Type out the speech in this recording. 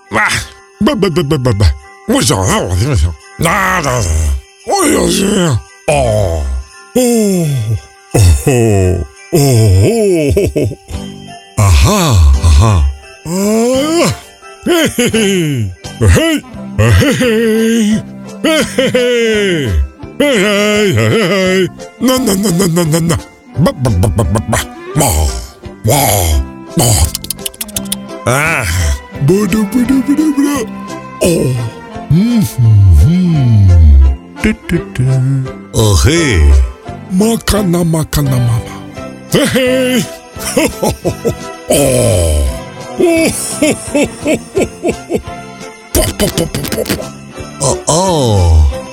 Ah, bah, bah, bah, bah, bah, bah. Oui, ça, ah, ah, oui, bien sûr. Oh, oh, oh, oh, oh, oh, oh. Ah, ah, ah, ah. Ah, hey, hey, hey, hey, hey, hey, hey, hey, hey, hey. Non, non, non, non, non, non, non. Bah, bah, bah, bah, bah, bah. Bah, bah, bah. Ah. Bodo, bodo, bodo, bodo. Oh. Oh, hey. Makana, makana, mama. Hey, hey. Oh. Oh. Oh, oh, oh.